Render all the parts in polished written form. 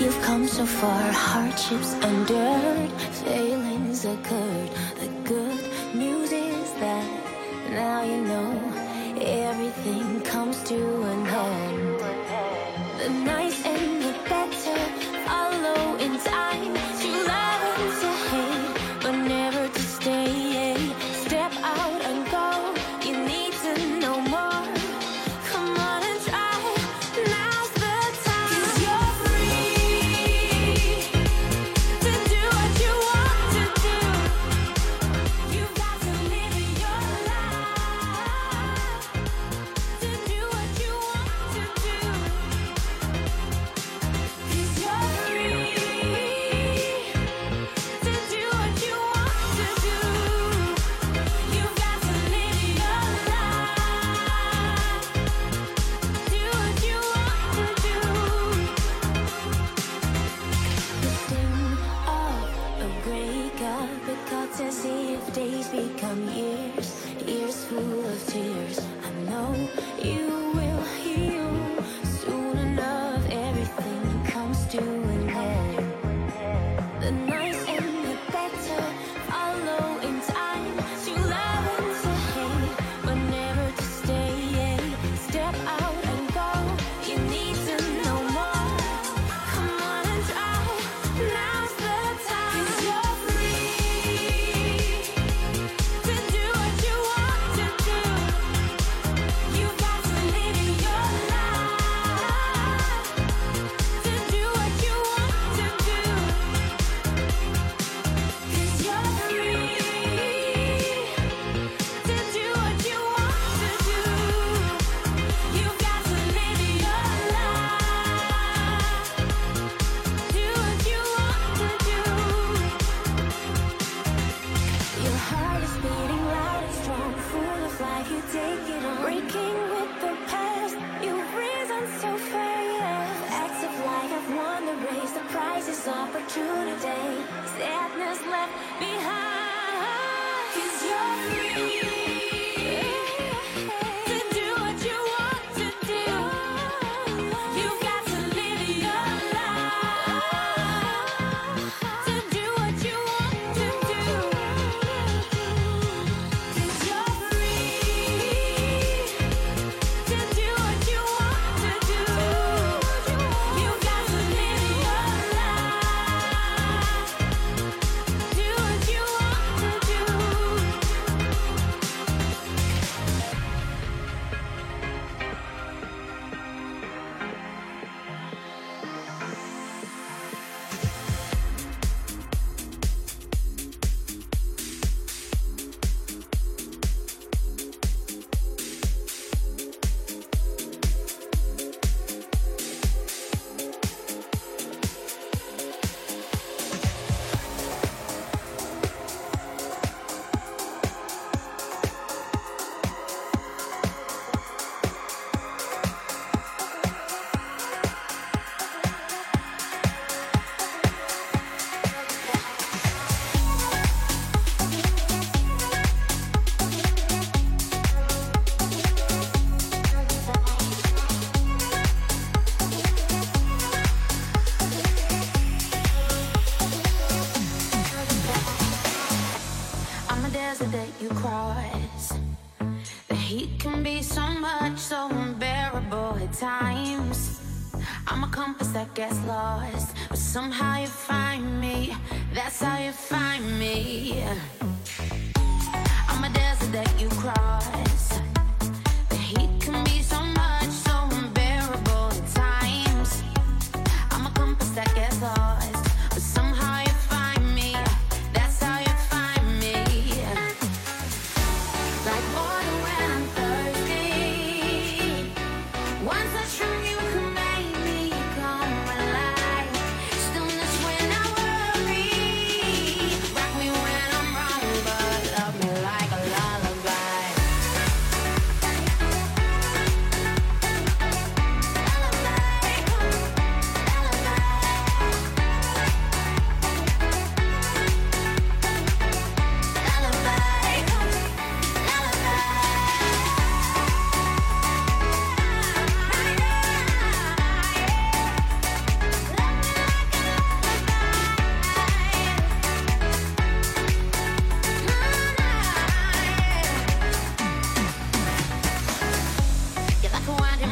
You've come so far, hardships endured, failings occurred. The good news is that now you know everything comes to an end. The nice and the better follow in time. To love and to hate, but never to stay. Step out and go, you need to know more. Come on and try, now's the time. 'Cause you're free to do what you want to do. You've got to live your life to do what you want to do. 'Cause you're free to do what you want to do. You've got to live your life, do what you want to do. The sting of a breakup, it cuts as if days become years, years full of tears. I know you will heal soon enough. Everything comes to an end. The nice and the better follow in time. To love and to hate, but never to stay. Step out and go, you need to know more. Come on and try, now's the time. 'Cause you're free to do what you want to do. You've got to live your life to do what you want to do. 'Cause you're free to do what you want to do. You've got to live your life, do what you want to do. Your heart is beating loud and strong, full of life, you take it on. Breaking with the past, you've risen so fast. Acts of life have won the race, the prize is opportunity. Sadness left behind. 'Cause you're free to do what you want to do. You've got to live your life to do what you want to do. 'Cause you're free to do what you want to do. You've got to live your life, do what you want to do. I'm a desert that you cross. The heat can be so much, so unbearable at times. I'm a compass that gets lost, but somehow you find me. That's how you find me. I'm a desert that you cross. The heat can be so much, so unbearable at times. I'm a compass that gets lost, but somehow you find me. That's how you find me. Like water when I'm thirsty. One touch from you can make me come alive. Stillness when I worry. Rock me when I'm wrong, but love me like a lullaby. Lullaby.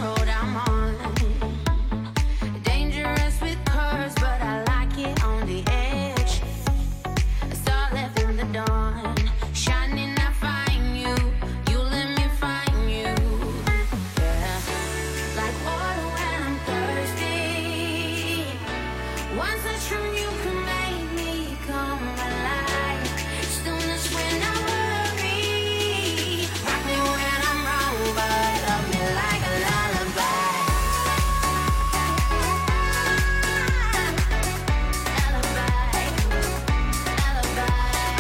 road I'm on. Dangerous with curves, but I like it on the edge. A star left in the dawn, shining I find you. You let me find you. Yeah, like water when I'm thirsty. One touch from you can make me come alive. Stillness when I worry. Rock me when I'm wrong, but love me like a lullaby. Lullaby, lullaby,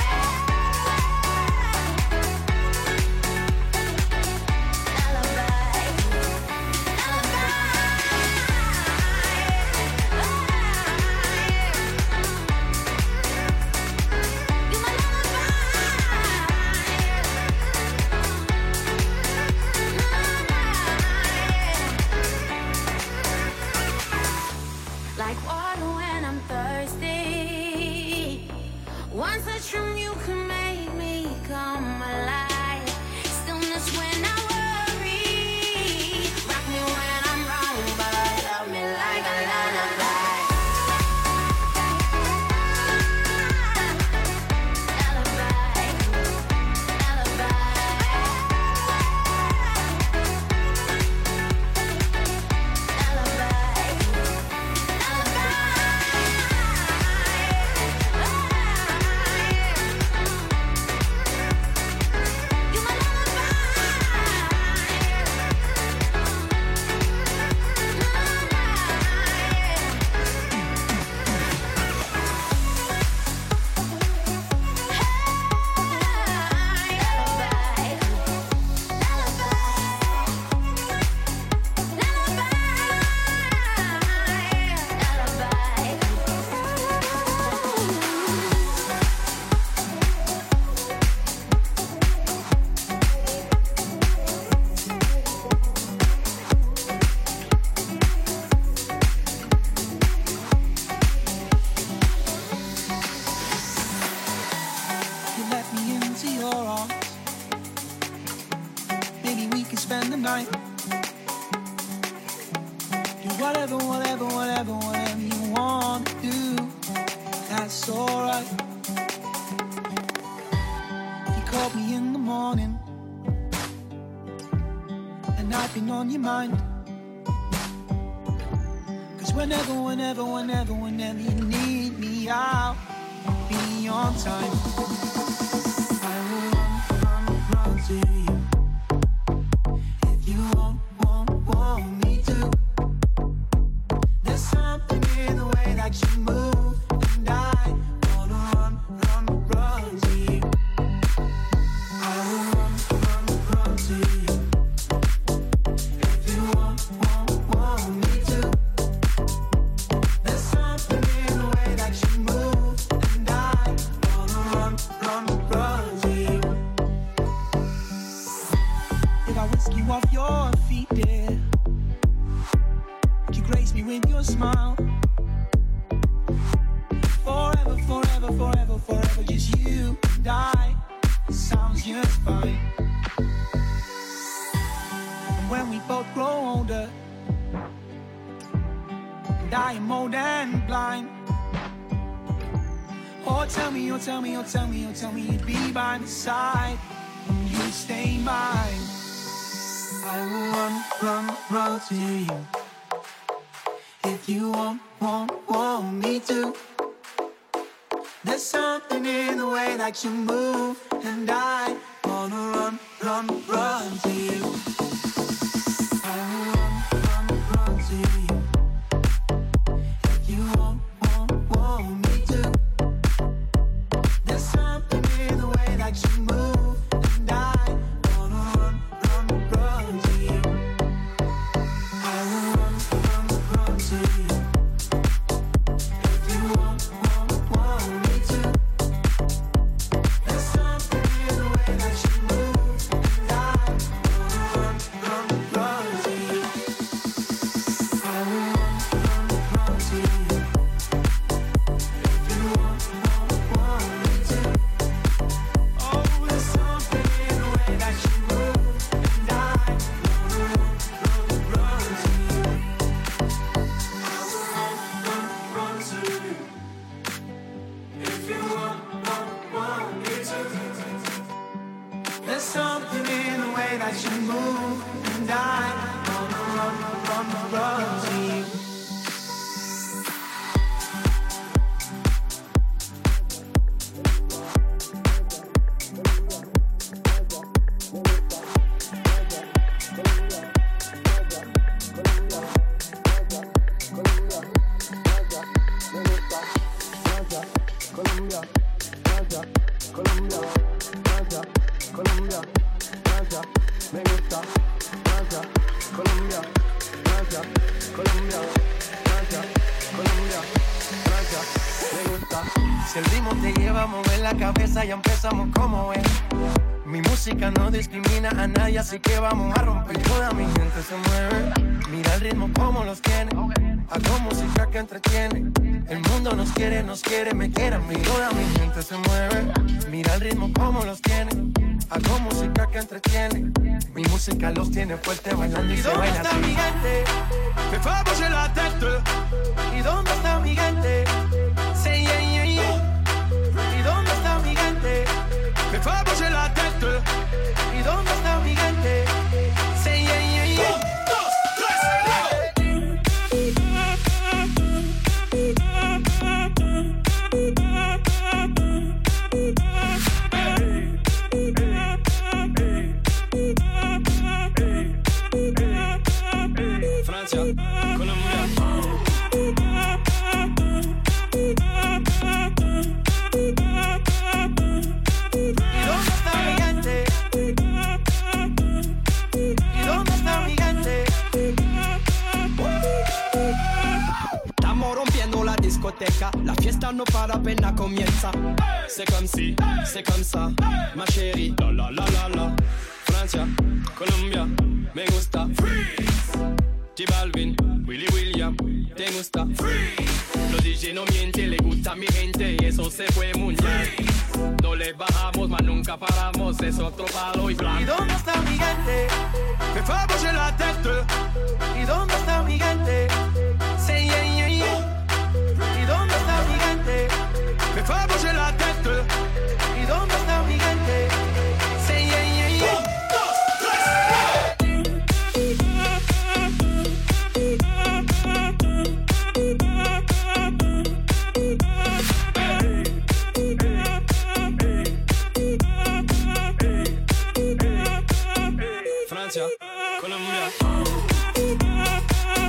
like water when I'm thirsty. One touch from you can make me come alive. Stillness when I worry. Rock me when I'm wrong, but love me like a lullaby. Lullaby, You let me into your arms. Maybe we can spend the night. Do whatever, whatever, whatever, whatever you want to do. That's alright. You called me in the morning, and I've been on your mind. Cause whenever, whenever, whenever, whenever you need me, I'll be on time. I will run to you. If you want me to. There's something in the way that you move, and I wanna run to you. I will run to you. If you want me to. There's something in the way that you move, and I wanna run to you. If I whisk you off your feet, dear, would you grace me with your smile? Forever, forever, forever, forever, just you and I. Sounds just fine. And when we both grow older, and I am old and blind, oh tell me, oh tell me, oh tell me, oh tell me you'd be by my side, you'd stay mine. I will run to you. If you want me to. There's something in the way that you move, and I wanna run to you. I will run to you. If you want me to. There's something in the way that you move, and I wanna run to you. I will run to you. If you want me to. There's something in the way that you move, and I wanna run Francia, Colombia, Francia, Colombia, Francia, me gusta. Si el ritmo te lleva a mover la cabeza, ya empezamos como es. Mi música no discrimina a nadie, así que vamos a romper. Toda mi gente se mueve. Mira el ritmo como los tiene. Hago música que entretiene. El mundo nos quiere, me quiere a mí. Toda mi gente se mueve. Mira el ritmo como los tiene. Hago música que entretiene. Mi música los tiene fuerte bailando y se baila. ¿Dónde está mi gente? Me fait bouger la tête. ¿Y dónde está mi gente? Say yeah, yeah, yeah. ¿Y dónde está mi gente? Me fait bouger la tête. ¿Y dónde está mi gente? Say yeah, yeah, yeah. 1, 2, 3. Francia, Colombia. ¿Y dónde está mi gente? ¿Y dónde está mi gente? Estamos rompiendo la discoteca, la fiesta no para apenas comienza. C'est comme si, c'est comme ça, ma chérie. La la la la la. Francia, Colombia, me gusta. Freeze. J Balvin, Willy William, te gusta. Freeze. Los DJ no mienten, le gusta a mi gente y eso se fue muy bien. No le bajamos, mas nunca paramos, es otro palo y ¿Y blanco. dónde está mi gente? Me fait bouger la tête. ¿Y dónde está mi gente? Say yeah, yeah, yeah. ¿Y dónde está mi gente? Me fait bouger la tête. ¿Y dónde está mi gente? Say yeah, yeah, yeah. 1, 2, 3. Francia, Colombia.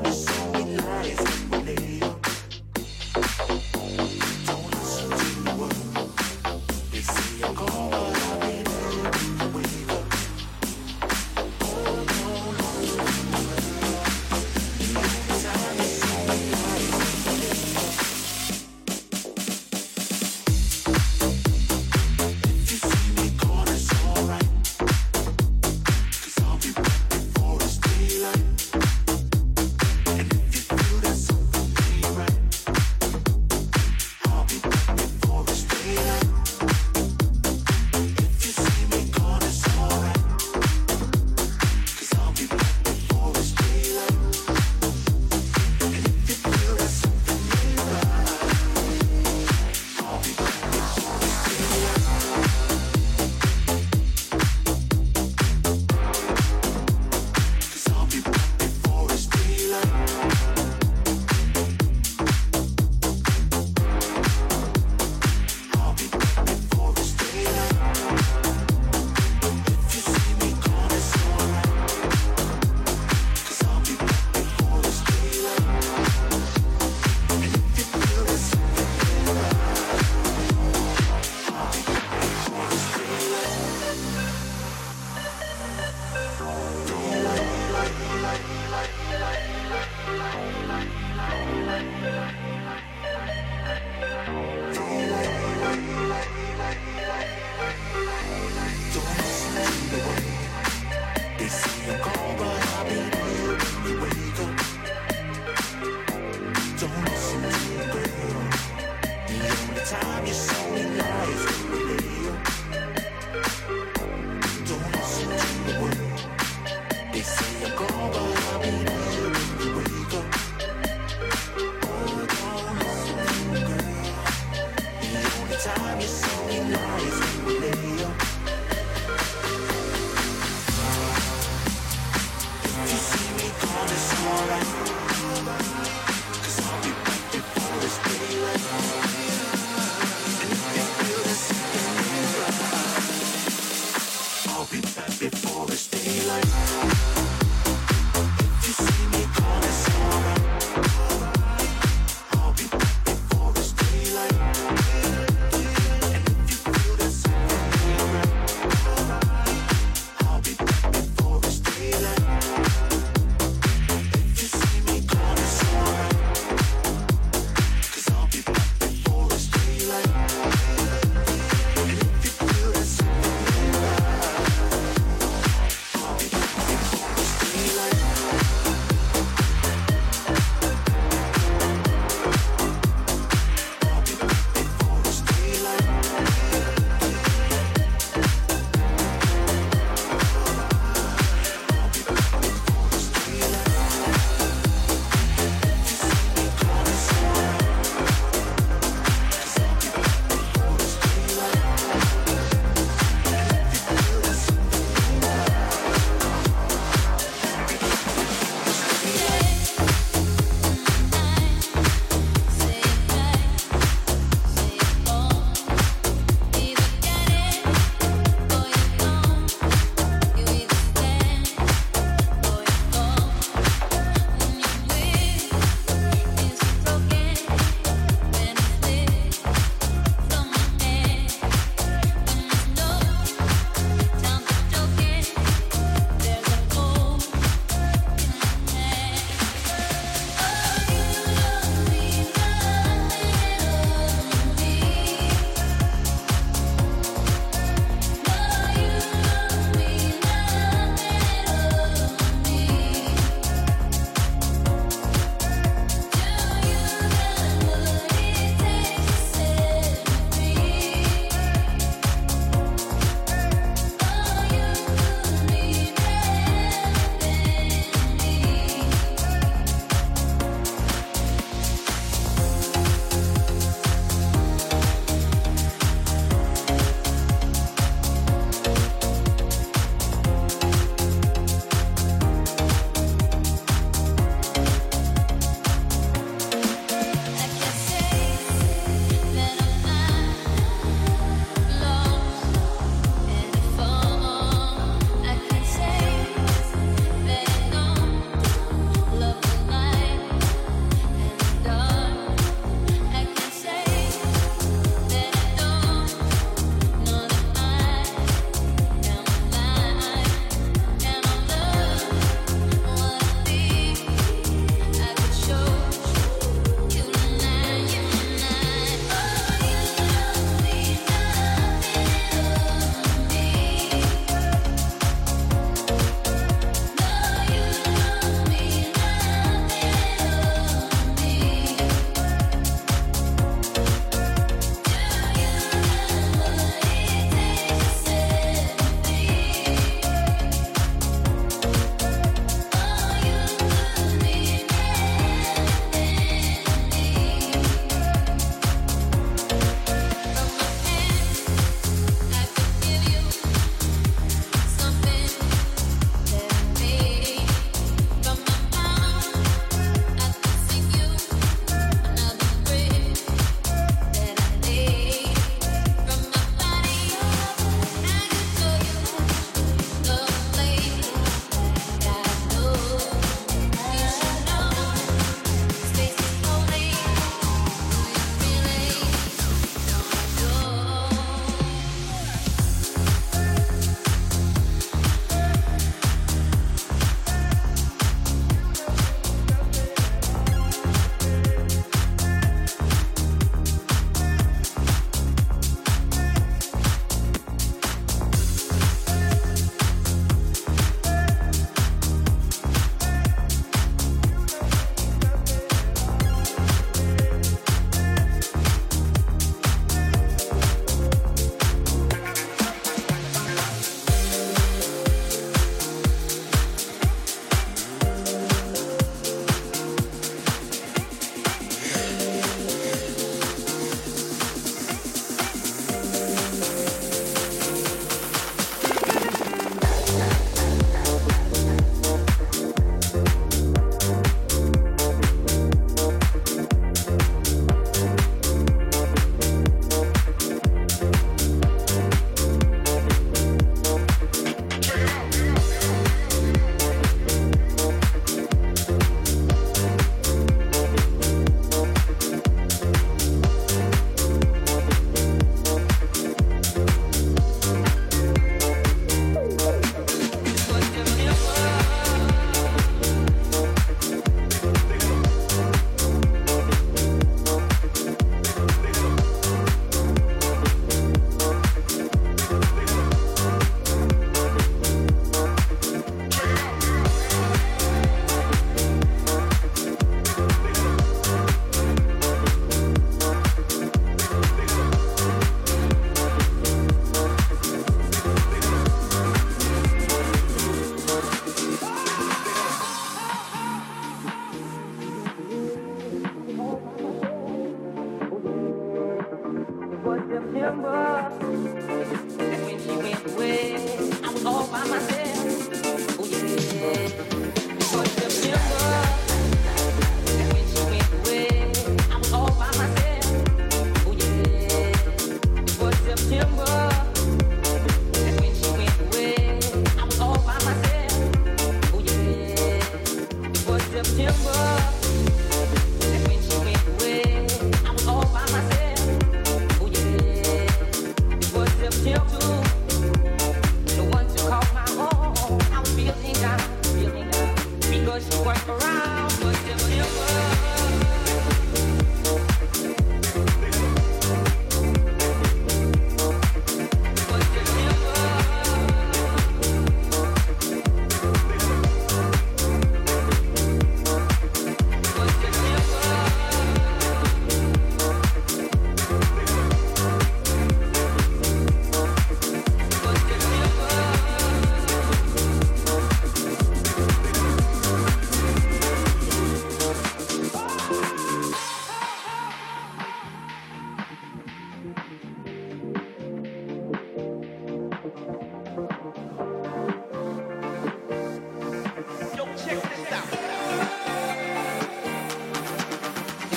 And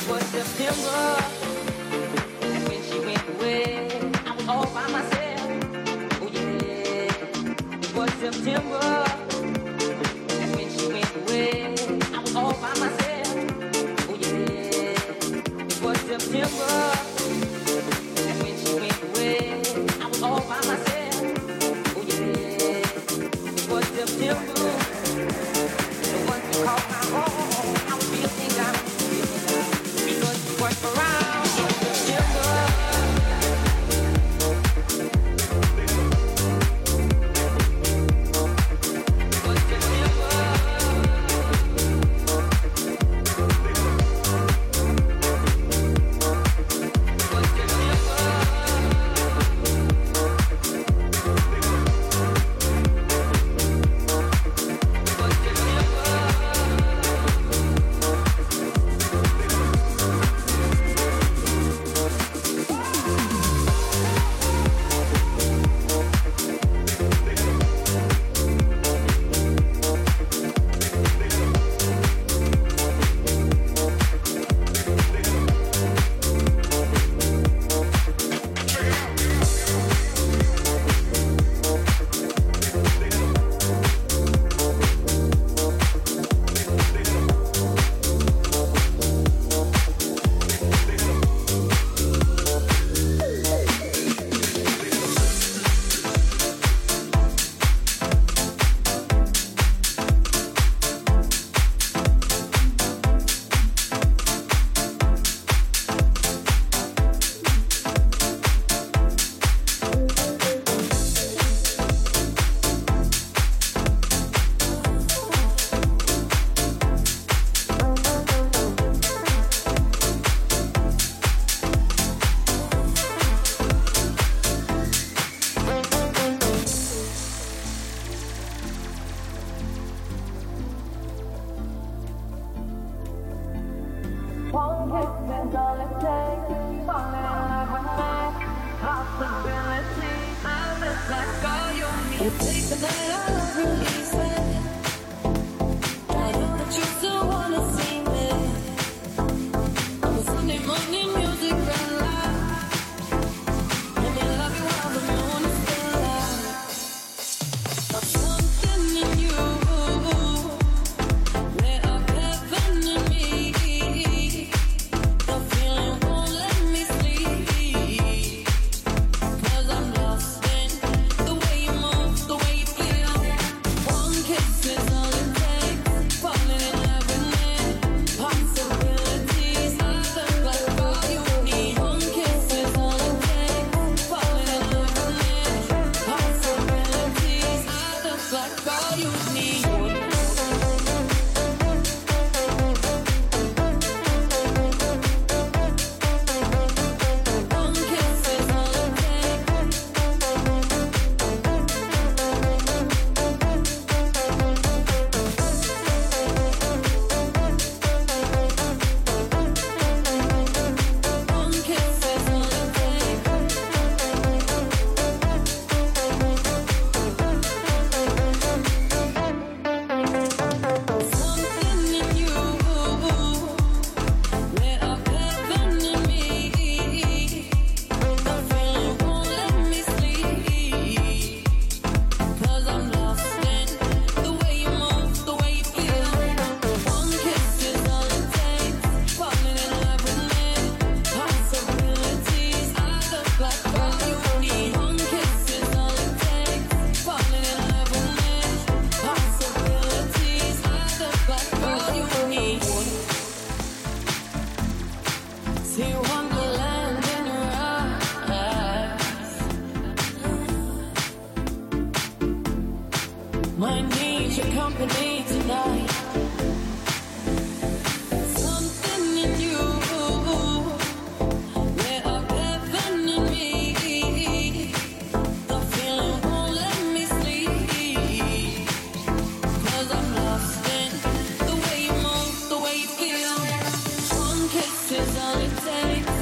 All it takes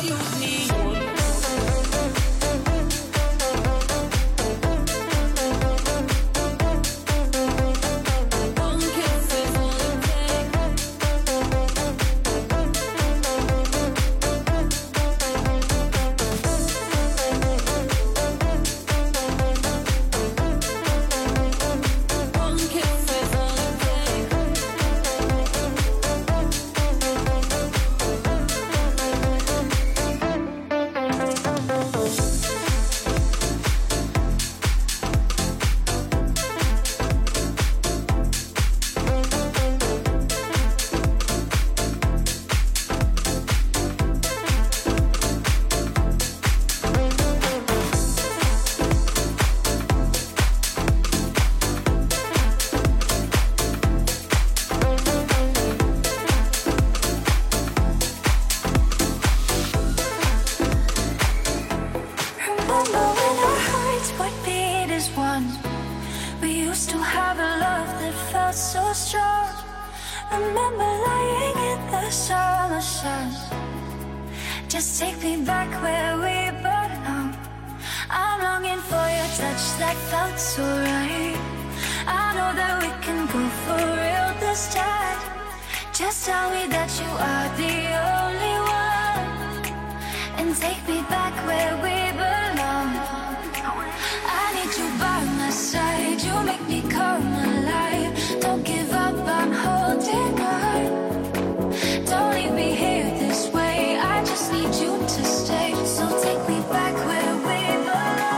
excuse me. One kiss is all it takes. One kiss is all it takes. Remember when our hearts would beat as one? We used to have a love that felt so strong. Remember lying in the summer sun. Just take me back where we belong. I'm longing for your touch that felt so right. I know that we can go for real this time. Just tell me that you are the only one, and take me back where we belong. I need you by my side. You make me come alive. Don't give up, I'm holding on. Don't leave me here this way. I just need you to stay. So take me back where we belong.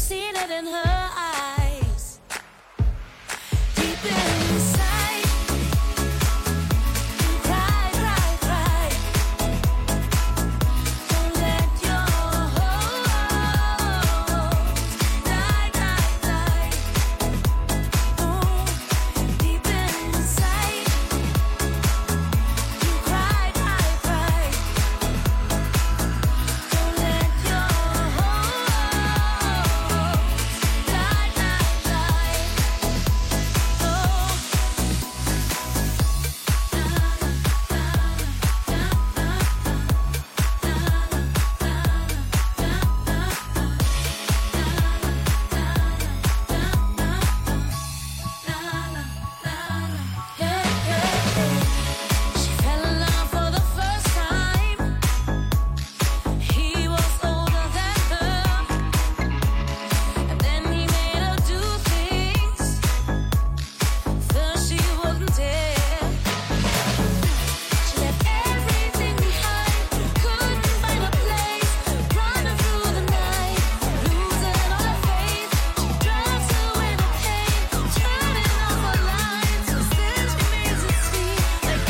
seen it in her eyes. Deep inside, you cry, cry, cry. Don't let your hopes die, die, die. Oh, deep inside, you cry, cry, cry. Don't let your She fell in love for the first time. He was older than her, and then he made her do things. First she wasn't there. She left everything behind, couldn't find a place, running through the night, losing all her faith. She drives away the pain, turning off her lights, and still she makes it seem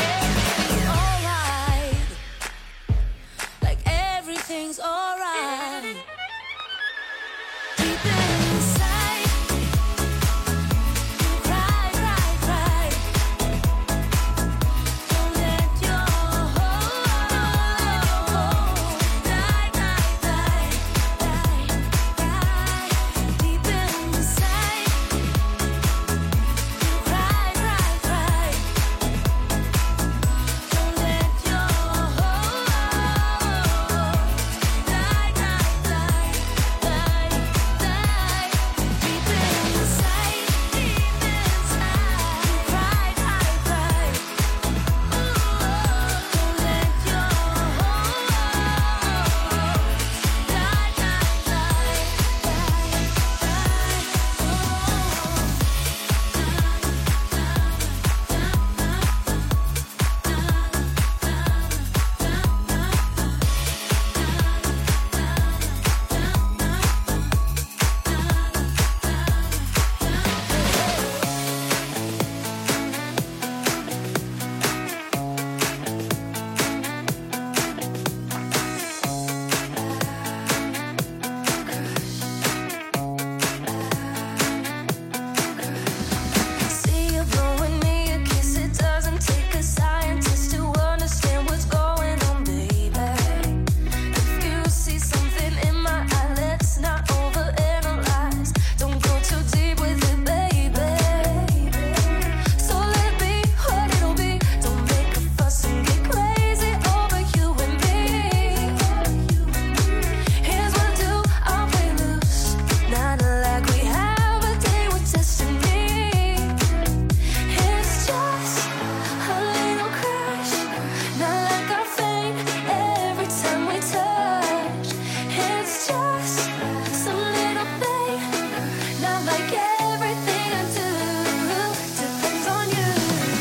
like everything's alright. Deep inside, you cry, cry, cry. Don't let your hope die, die, die, die, die. Deep inside, you cry, cry, cry. Don't let your hope die, die, die, die, die. Deep inside, you cry, cry, cry. Don't let your See you blowing me a kiss. It doesn't take a scientist to understand what's going on, baby. If you see something in my eye, let's not overanalyze. Don't go too deep with it, baby. So let it be what it'll be. Don't make a fuss and get crazy over you and me. Here's what I do, I'll play loose. Not like we have a day with destiny. It's just a little crush, not like I faint every time we touch. It's just some little thing, not like everything I do depends on you.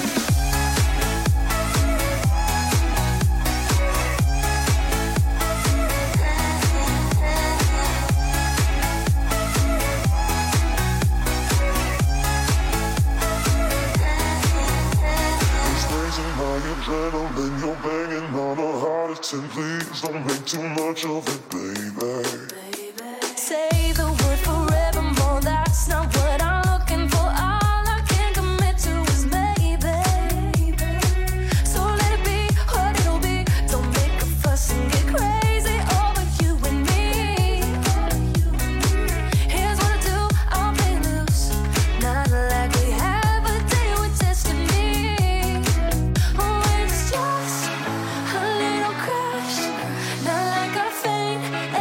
It's raising my adrenaline, you're banging on a heart of 10. Please don't make too much of it, baby. Say the word forevermore, that's not what I'm looking for. All I can commit to is maybe. So let it be what it'll be. Don't make a fuss and get crazy over you and me. Here's what I do, I'll play loose. Not like we have a day with destiny. Oh, it's just a little crush, not like I faint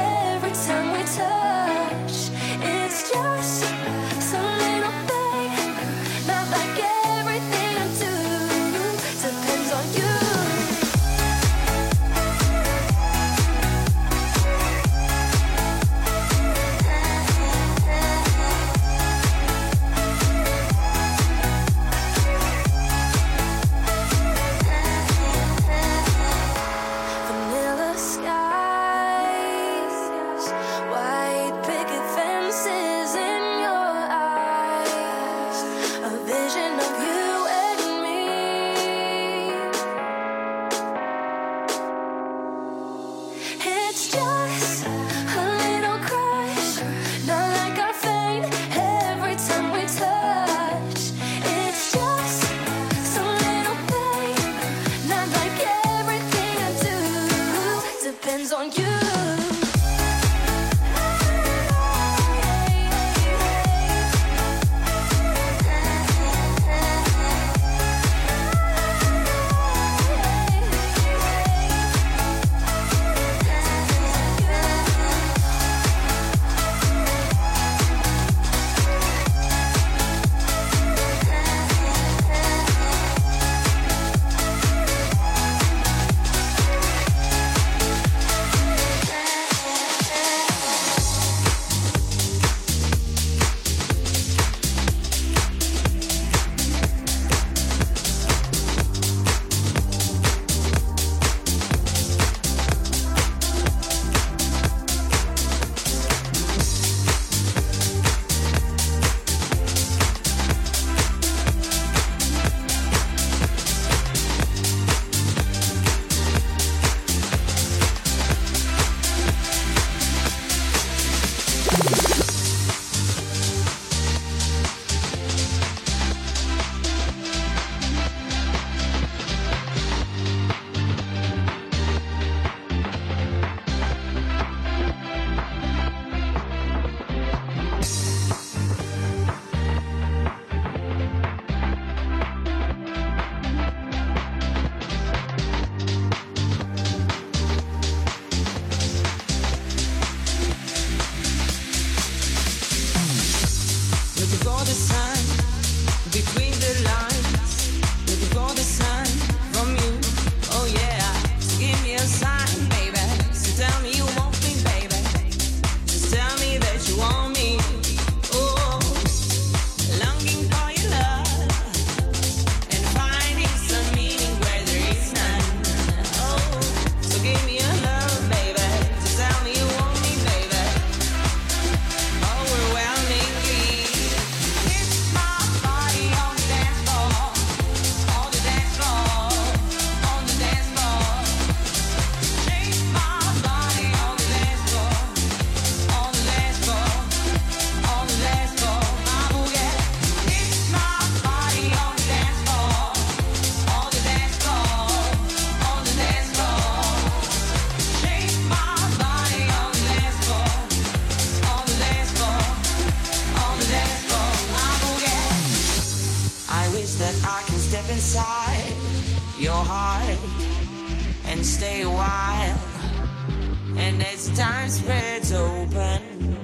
stay a while. And as time spreads open,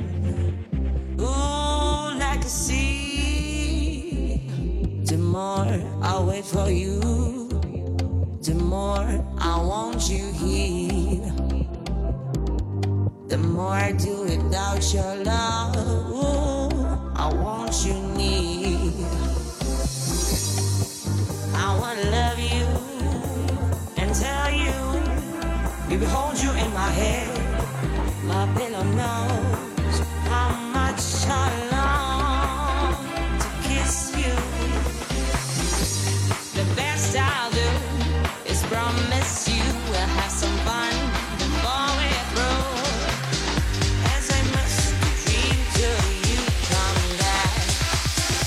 ooh, like a sea, the more I wait for you, the more I want you here. The more I do without your love, ooh, I want you near. I wanna love you and tell you, baby, hold you in my head. My pillow knows how much I long to kiss you. The best I'll do is promise you we'll have some fun before we're through. As I must dream till you come back.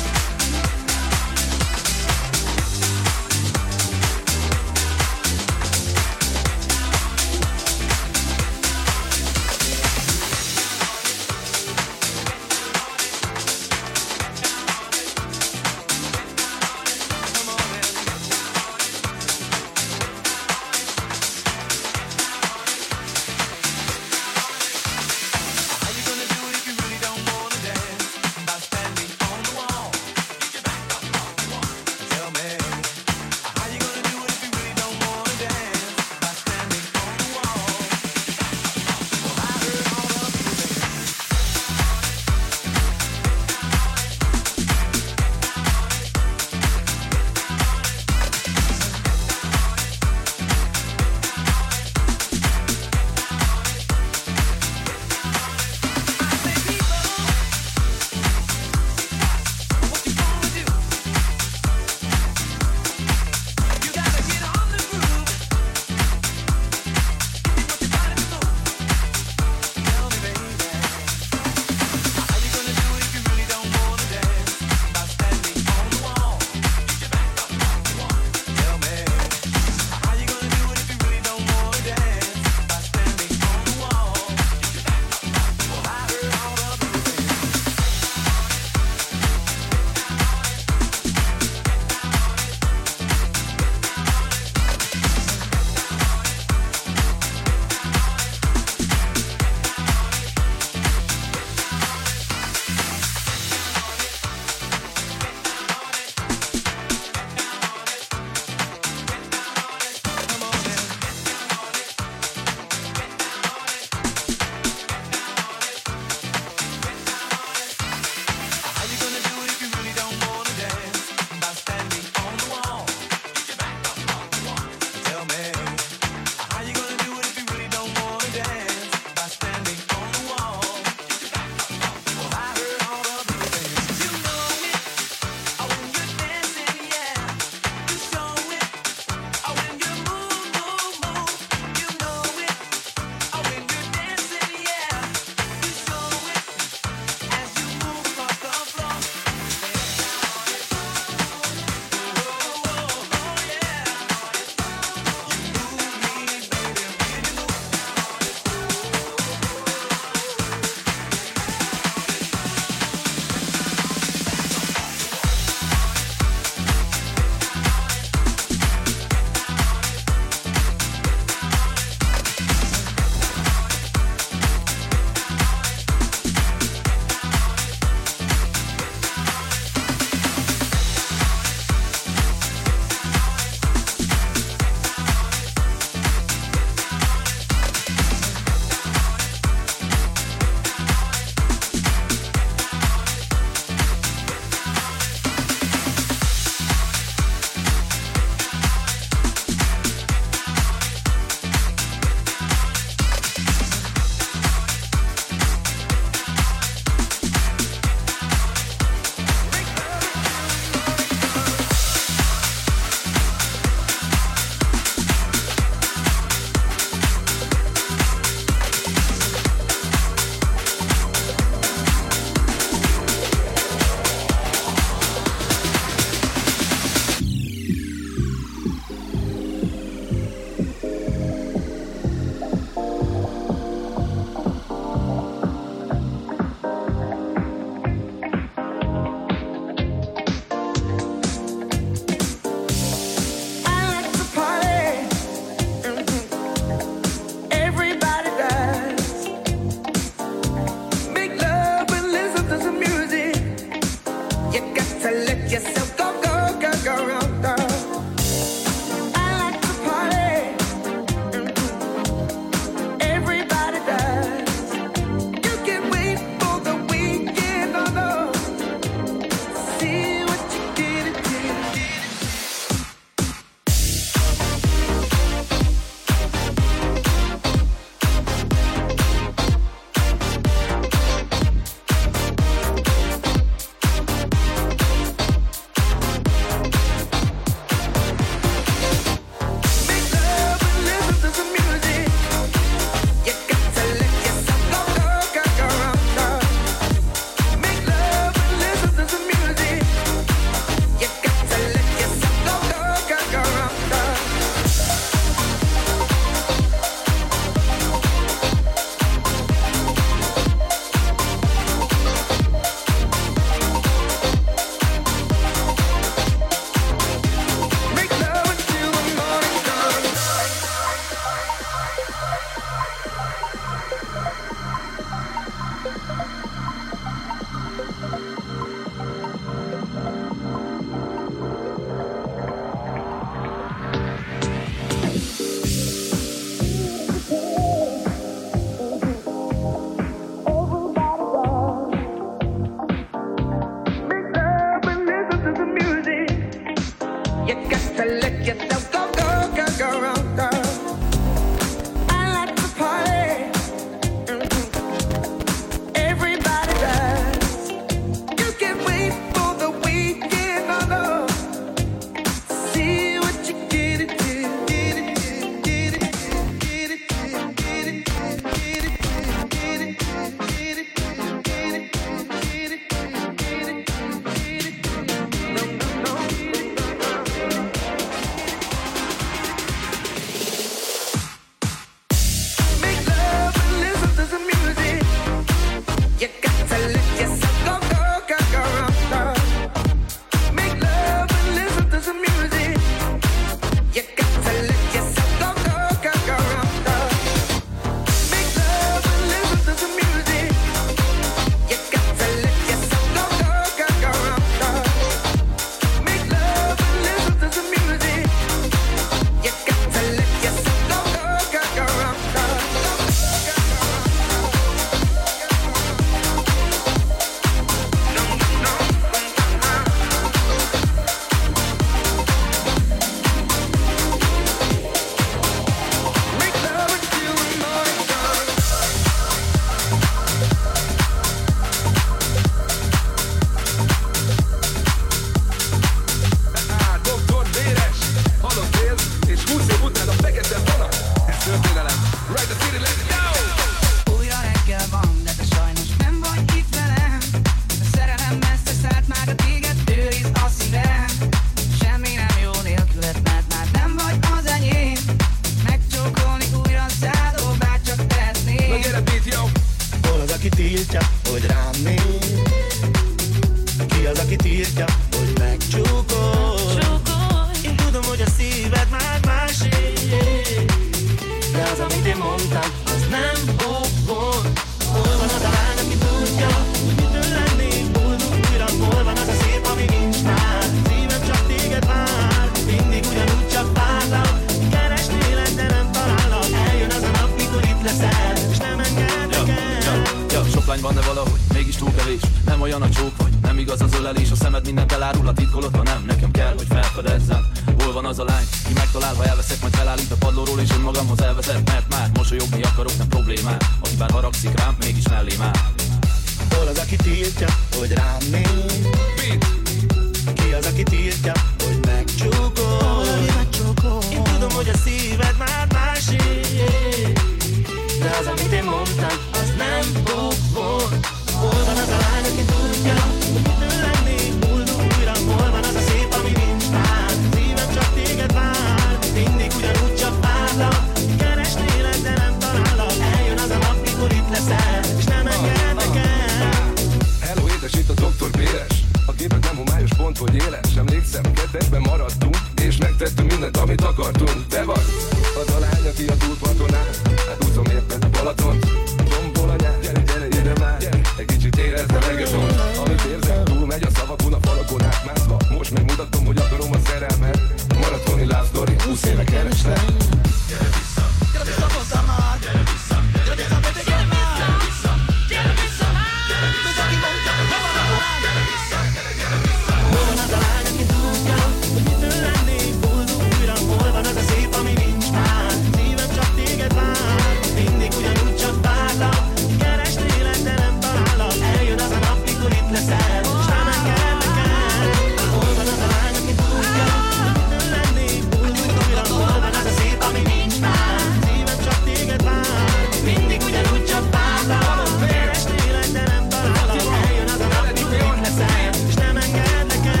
akad ezzem. Hol van az a lány, ki megtalál, ha elveszek, majd felállít a padlóról és önmagamhoz elvezet. Mert már mosolyogni akarok, nem problémám, aki bár haragszik rám, mégis mellém áll. Hol az, aki tiltja, hogy rám néz? Ki az, aki tiltja, hogy megcsókol? Én tudom, hogy a szíved már másé, de az, amit én mondtam, az nem fog volt. Hol van az a lány, aki tudja, hogy mitől lennék boldog újra? Hol van az a szép, ami nincs már? Szívem csak téged vár, mindig ugyanúgy csak várlak. Keresnélek, de nem találok. Eljön az a nap, mikor itt leszel, és nem engednek el. Hello, édes, itt a Dr. Béres. A képet nem homályos, pont hogy éles. Emlékszem, kettesben maradtunk, és megtettünk mindent, amit akartunk. Te vagy az a lány, aki a túlparton áll. Hát úszom éppen a Balatont, tombol a nyár. Gyere, gyere, ide már, gyere. Egy kicsit érezd a reggaeton. Amit érzem, túl megy a szavakon, a falakon átmászva. Most megmutatom, hogy akarom a szerelmet. Maratoni love story, 20 éve kereslek. Gyere vissza, mondtam már. Gyere vissza, gyere vissza, baby, gyere már. Gyere vissza, gyere vissza, gyere vissza, gyere vissza, gyere vissza. Hol van az a lány, aki tudja, hogy mitől lennék boldog újra? Hol van az a szép, ami nincs már? Szívem csak téged vár, mindig ugyanúgy csak várlak. Keresnélek, de nem találok. Eljön az a nap, mikor itt leszel, és nem engednek el. Hol van az a lány, aki tudja, hogy mitől lennék boldog újra? Hol van az a szép, ami nincs már? Szívem csak téged vár, mindig ugyanúgy csak várlak. Keresnélek, de nem találok. Eljön az a nap, mikor itt leszel, és nem engednek el.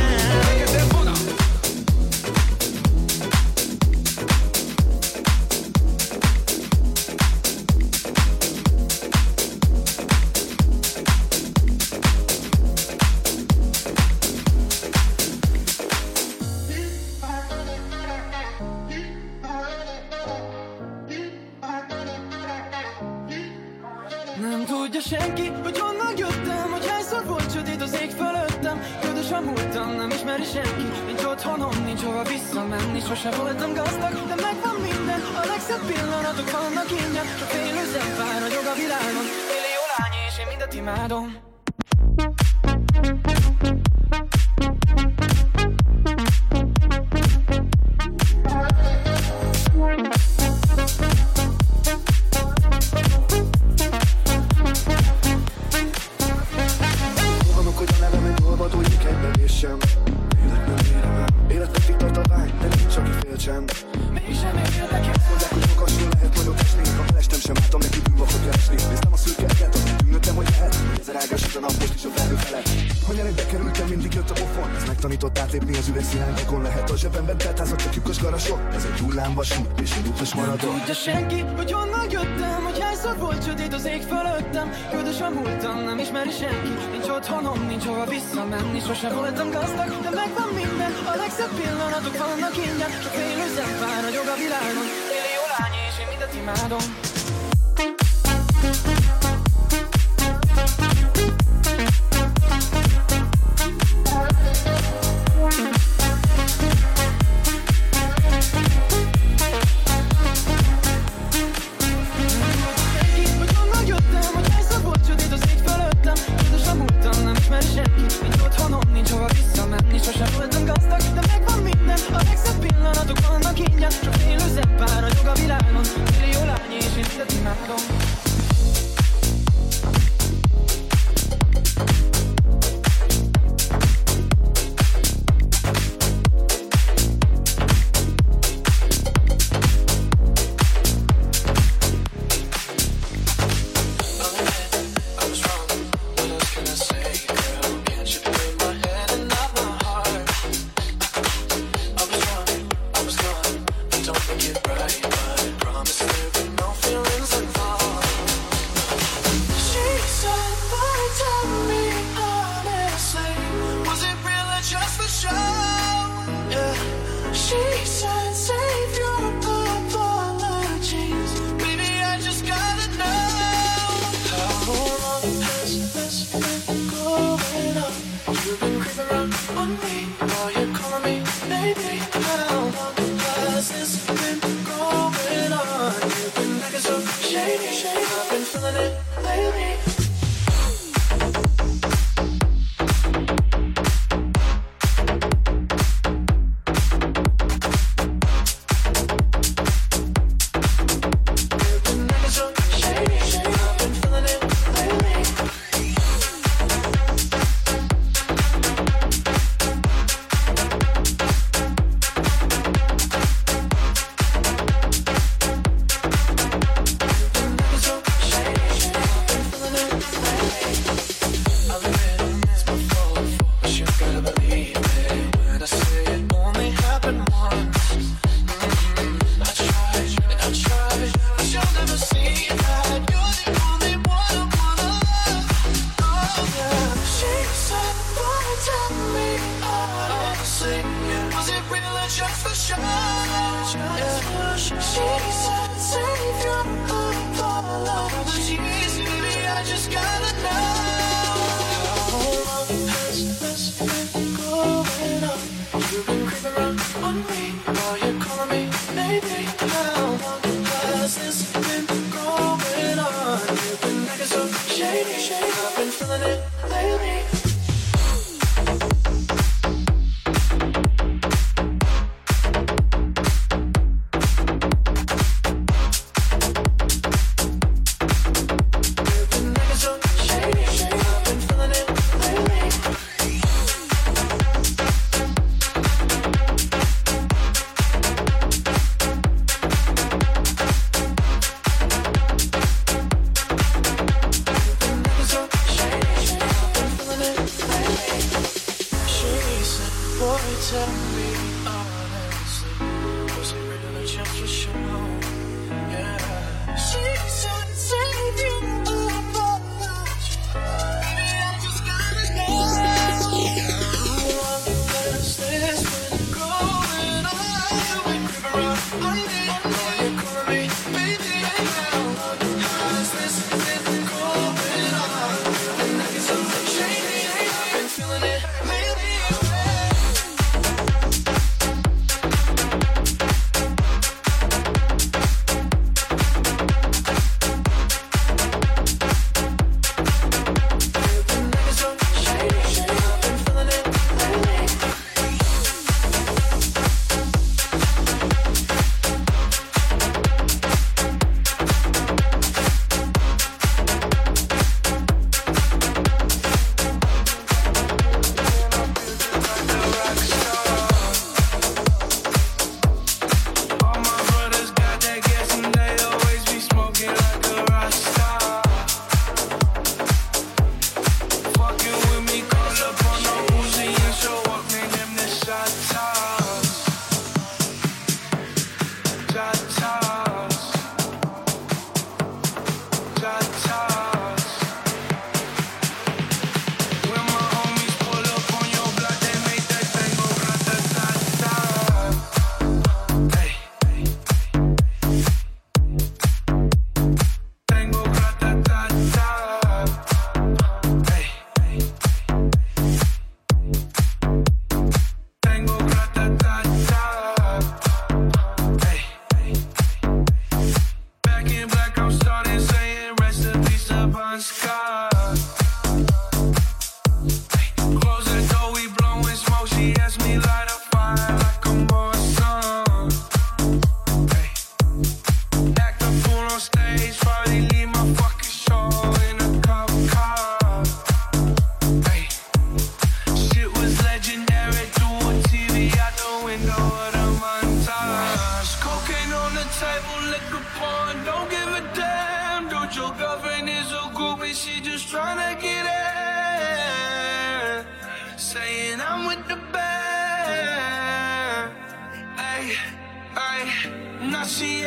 Nem tudja senki, hogy honnan jöttem, hogy hányszor volt sötét az ég fölöttem. Ködös a múltam, nem ismeri senki, nincs otthonom, nincs hova visszamenni. Sose voltam gazdag, de megvan minden, a legszebb pillanatok vannak ingyen. Csak félő zempár ragyog a világon, millió lány és én mindet imádom. Tudja senki, hogy honnan jöttem, hogy hányszor volt sötét az ég fölöttem. Ködös a múltam, nem ismeri senki, nincs otthonom, nincs hova visszamenni. Sose voltam gazdag, de megvan minden, a legszebb pillanatok vannak ingyen. Csak félő zempár ragyog a világon, millió lány és én mindet imádom. just for sure. She's a savior of all apologies. Baby, I just gotta know. How long has this been going on? You've been creeping around on me. Are you calling me maybe? How long has this been going on? You've been acting so shady. I've been feeling it lately.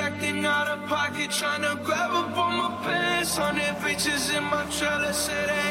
Trying to grab up on my pants, 100 bitches in my trailer, say they